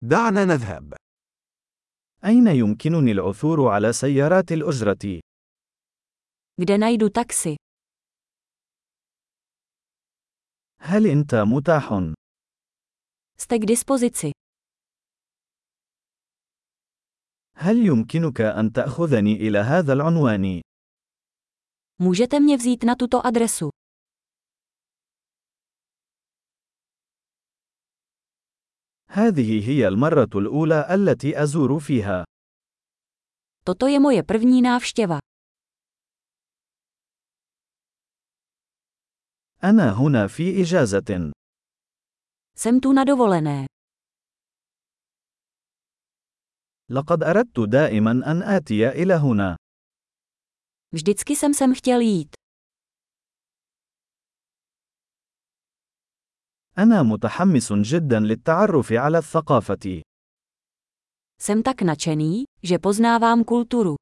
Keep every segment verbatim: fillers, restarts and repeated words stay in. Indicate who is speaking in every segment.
Speaker 1: دعنا نذهب.
Speaker 2: أين يمكنني العثور على سيارات الأجرة؟
Speaker 3: Kde najdu taxi?
Speaker 2: هل أنت متاح؟
Speaker 3: Jste k dispozici.
Speaker 2: هل يمكنك أن تأخذني إلى هذا العنوان؟
Speaker 3: Můžete mě vzít na tuto adresu.
Speaker 2: هذه هي المرة الأولى التي أزور فيها.
Speaker 3: Toto je moje první návštěva.
Speaker 2: أنا هنا في إجازة.
Speaker 3: Jsem tu na dovolené.
Speaker 2: لقد أردت دائما أن آتي إلى هنا.
Speaker 3: Vždycky jsem sem chtěl jít.
Speaker 2: أنا متحمس جدا للتعرف على الثقافة.
Speaker 3: Jsem tak nadšený, že poznávám kulturu.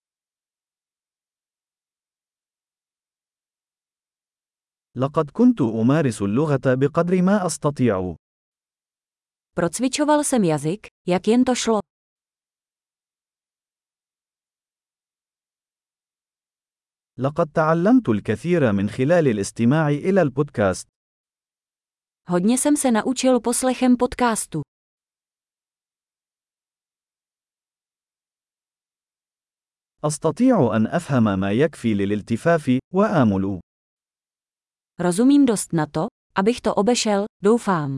Speaker 2: لقد كنت أمارس اللغة بقدر ما أستطيع.
Speaker 3: Procvičoval jsem jazyk, jak jen to šlo.
Speaker 2: لقد تعلمت الكثير من خلال الاستماع إلى البودكاست.
Speaker 3: Hodně jsem se naučil poslechem podcastu.
Speaker 2: أستطيع أن أفهم ما يكفي للالتفاف، وآمل.
Speaker 3: Rozumím dost na to, abych to obešel, doufám.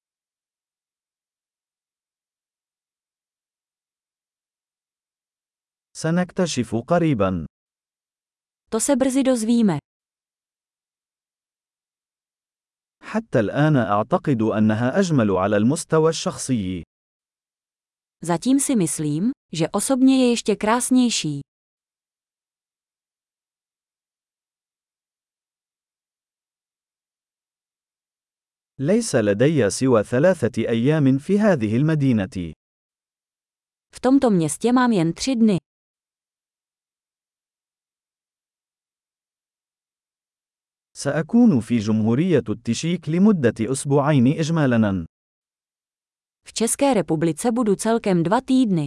Speaker 2: سنكتشف قريبا.
Speaker 3: To se brzy dozvíme.
Speaker 2: حتى الآن أعتقد أنها أجمل على المستوى الشخصي.
Speaker 3: Zatím si myslím, že osobně je ještě krásnější.
Speaker 2: ليس لدي سوى ثلاثة أيام في هذه المدينة.
Speaker 3: V tomto městě mám jen tři dny.
Speaker 2: سأكون في جمهورية التشيك لمدة أسبوعين إجمالاً.
Speaker 3: V České republice budu celkem dva týdny.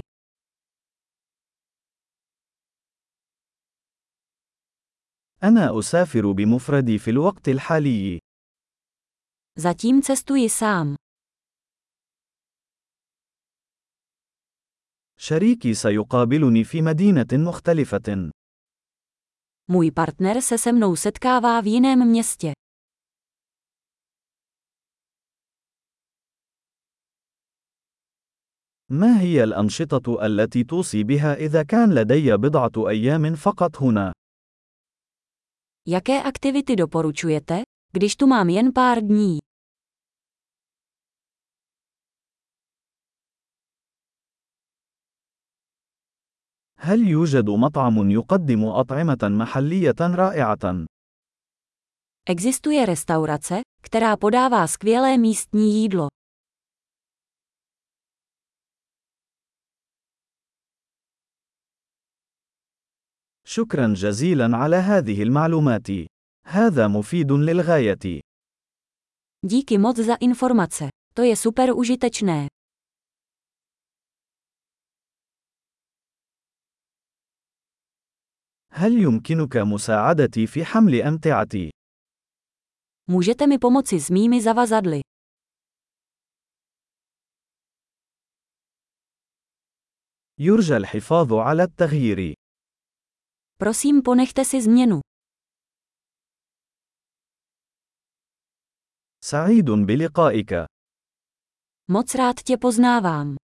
Speaker 2: أنا أسافر بمفردي في الوقت الحالي.
Speaker 3: Zatím cestuji sám.
Speaker 2: شريكي سيقابلني في مدينة مختلفة.
Speaker 3: Můj partner se se mnou setkává v jiném městě.
Speaker 2: ما هي الأنشطة التي توصي بها إذا كان لدي بضعة أيام فقط هنا؟
Speaker 3: Jaké aktivity doporučujete, když tu mám jen pár dní?
Speaker 2: هل يوجد مطعم يقدم أطعمة محلية رائعة؟
Speaker 3: Existuje restaurace, která podává skvělé místní jídlo.
Speaker 2: شكرا جزيلا على هذه المعلومات. هذا مفيد للغاية.
Speaker 3: Díky moc za informace. To je super užitečné.
Speaker 2: هل يمكنك مساعدتي في حمل أمتعتي؟
Speaker 3: Můžete mi pomoci s mými zavazadly.
Speaker 2: يرجى الحفاظ على التغيير.
Speaker 3: Prosím, ponechte si změnu.
Speaker 2: سعيد بلقائك.
Speaker 3: Moc rád tě poznávám.